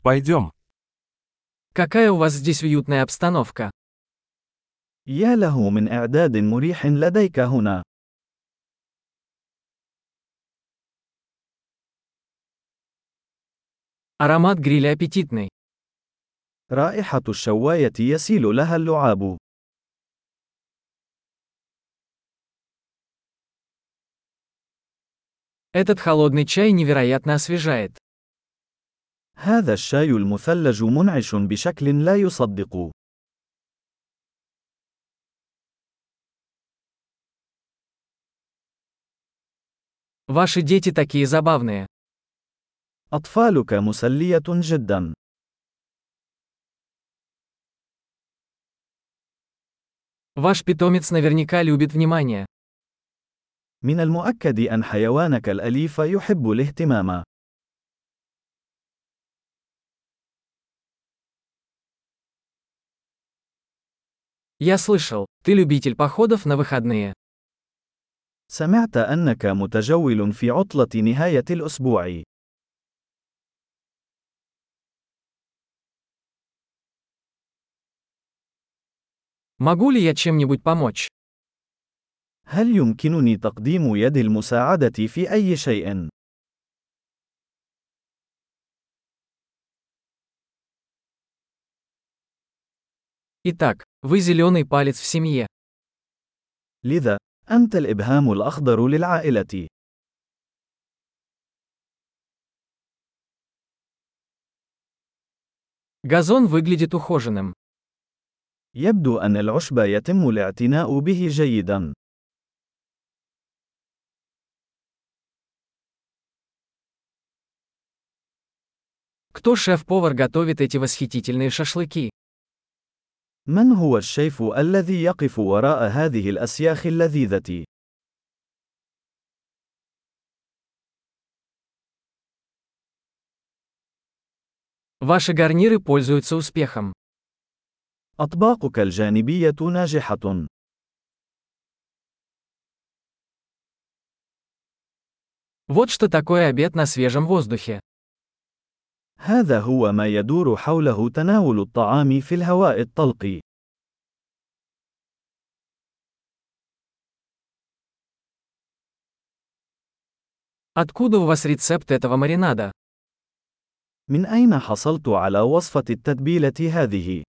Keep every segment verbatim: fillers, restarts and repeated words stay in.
Пойдем. Какая у вас здесь уютная обстановка. يا له من إعداد مريح لديك هنا. Аромат гриля аппетитный. رائحة الشواية يسيل لها اللعاب. Этот холодный чай невероятно освежает. هذا الشاي المثلج منعش بشكل لا يصدق. Ваши дети такие забавные. أطفالك مسلية جدا. Ваш питомец наверняка любит внимание. من المؤكد أن حيوانك الأليف يحب الاهتمام. Я слышал, ты любитель походов на выходные. سمعت أنك متجول في عطلة نهاية الأسبوع. Могу ли я чем-нибудь помочь? هل يمكنني تقديم يد المساعدة في أي شيء؟ Итак, вы зеленый палец в семье. لذا، أنت الإبهام الأخضر للعائلة. Газон выглядит ухоженным. يبدو أن العشب يتم الاعتناء به جيدا. Кто шеф-повар готовит эти восхитительные шашлыки? من هو الشيف الذي يقف وراء هذه الأسياخ اللذيذة؟ Ваши гарниры пользуются успехом. أطباقك الجانبية ناجحة. Вот что такое обед на свежем воздухе. هذا هو ما يدور حوله تناول الطعام في الهواء الطلق. Откуда у вас рецепт этого маринада? من أين حصلت على وصفة التتبيلة هذه؟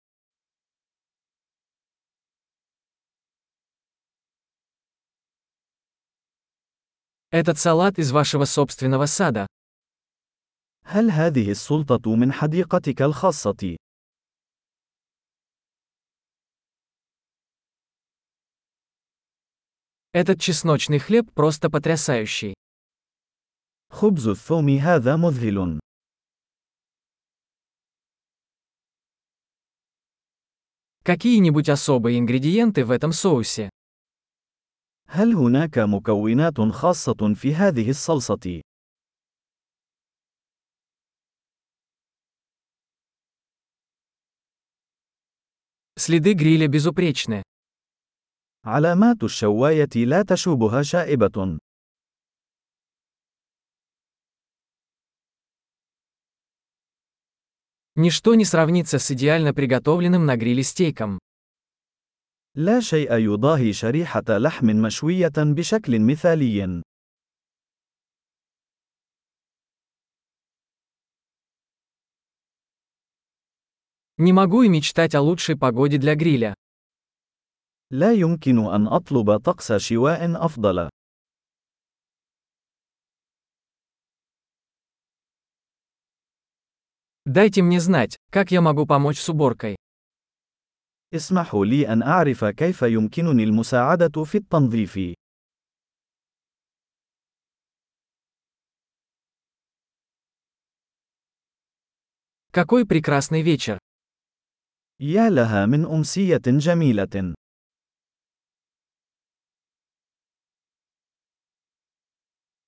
Этот салат из вашего собственного сада. هل هذه السلطة من حديقتك الخاصة؟ Этот чесночный хлеб просто потрясающий. خبز الثوم هذا مذهل. Какие-нибудь особые ингредиенты в этом соусе? هل هناك مكونات خاصة في هذه الصلصة؟ Следы гриля безупречны. علامات الشواية لا تشوبها شائبة. Ничто не сравнится с идеально приготовленным на гриле стейком. لا شيء يضاهي شريحة لحم مشوية بشكل مثالي. Не могу и мечтать о лучшей погоде для гриля. لا يمكن أن أطلب طقس شواء أفضل. Дайте мне знать, как я могу помочь с уборкой. اسمحوا لي أن أعرف كيف يمكنني المساعدة في التنظيف. Какой прекрасный вечер! يا لها من أمسية جميلة.